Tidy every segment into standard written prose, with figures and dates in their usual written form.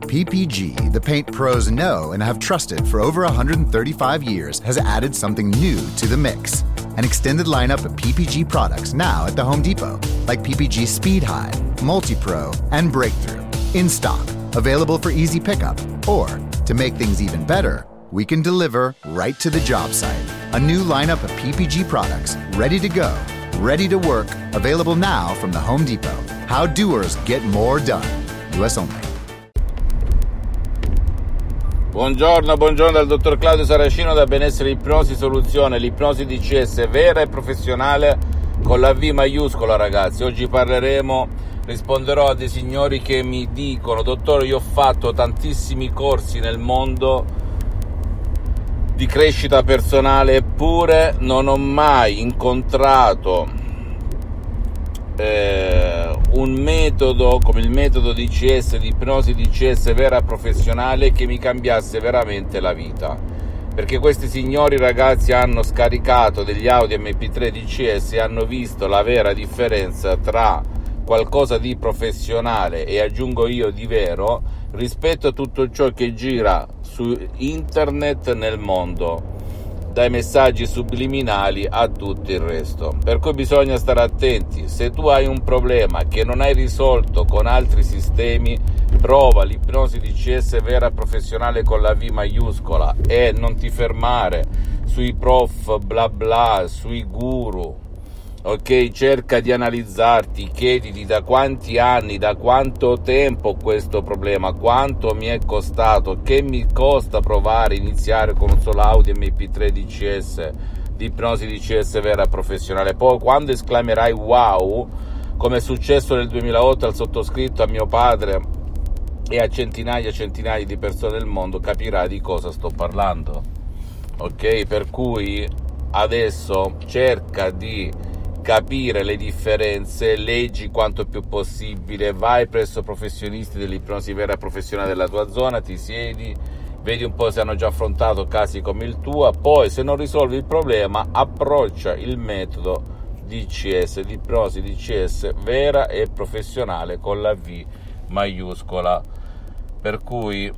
PPG, the paint pros know and have trusted for over 135 years, has added something new to the mix. An extended lineup of PPG products now at the Home Depot, like PPG Speed High, Multi-Pro, and Breakthrough. In stock, available for easy pickup, or, to make things even better, we can deliver right to the job site. A new lineup of PPG products, ready to go, ready to work, available now from the Home Depot. How doers get more done. US only. Buongiorno dal dottor Claudio Saracino da Benessere Ipnosi Soluzione, l'ipnosi DCS vera e professionale con la V maiuscola, ragazzi. Oggi risponderò a dei signori che mi dicono: dottore, io ho fatto tantissimi corsi nel mondo di crescita personale, eppure non ho mai incontrato un metodo come il metodo DCS, di ipnosi DCS vera professionale, che mi cambiasse veramente la vita. Perché questi signori, ragazzi, hanno scaricato degli audio MP3 DCS e hanno visto la vera differenza tra qualcosa di professionale e, aggiungo io, di vero rispetto a tutto ciò che gira su internet nel mondo, dai messaggi subliminali a tutto il resto. Per cui bisogna stare attenti. Se tu hai un problema che non hai risolto con altri sistemi, prova l'ipnosi DCS vera professionale con la V maiuscola e non ti fermare sui prof bla bla, sui guru. Ok, cerca di analizzarti, chiediti da quanti anni, da quanto tempo questo problema, quanto mi è costato, che mi costa provare a iniziare con un solo audio MP3 DCS, di ipnosi DCS vera professionale. Poi quando esclamerai wow, come è successo nel 2008 al sottoscritto, a mio padre e a centinaia di persone del mondo, capirai di cosa sto parlando. Ok, per cui adesso cerca di capire le differenze, leggi quanto più possibile, vai presso professionisti dell'ipnosi vera professionale della tua zona, ti siedi, vedi un po' se hanno già affrontato casi come il tuo, poi se non risolvi il problema approccia il metodo DCS, l'ipnosi DCS vera e professionale con la V maiuscola. Per cui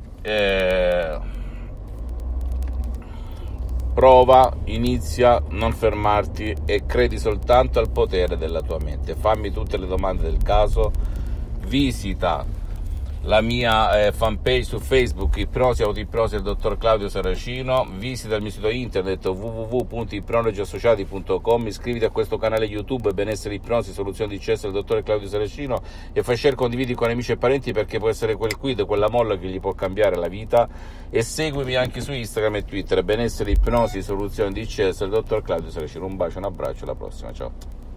prova, inizia, non fermarti e credi soltanto al potere della tua mente. Fammi tutte le domande del caso, visita la mia fanpage su Facebook, Ipnosi Autoipnosi del dottor Claudio Saracino, visita il mio sito internet www.ipnologiassociati.com, iscriviti a questo canale YouTube Benessere Ipnosi Soluzioni DCS del dottor Claudio Saracino e fai share, condividi con amici e parenti, perché può essere quel quid, quella molla che gli può cambiare la vita. E seguimi anche su Instagram e Twitter, Benessere Ipnosi Soluzioni DCS del dottor Claudio Saracino. Un bacio, un abbraccio, alla prossima, ciao.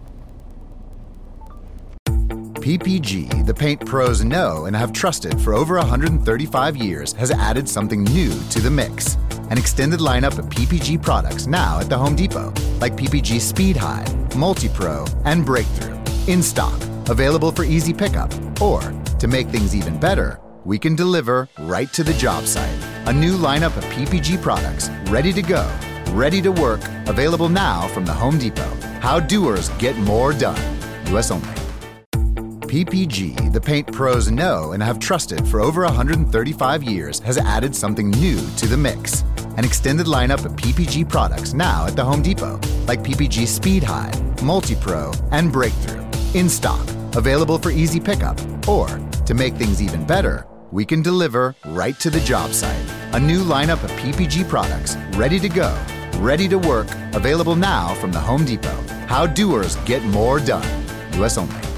PPG, the paint pros know and have trusted for over 135 years, has added something new to the mix. An extended lineup of PPG products now at the Home Depot, like PPG Speed High, Multi-Pro, and Breakthrough. In stock, available for easy pickup, or, to make things even better, we can deliver right to the job site. A new lineup of PPG products, ready to go, ready to work, available now from the Home Depot. How doers get more done. US only. PPG, the paint pros know and have trusted for over 135 years, has added something new to the mix. An extended lineup of PPG products now at the Home Depot, like PPG Speed High, Multi-Pro, and Breakthrough. In stock, available for easy pickup, or, to make things even better, we can deliver right to the job site. A new lineup of PPG products, ready to go, ready to work, available now from the Home Depot. How doers get more done. US only.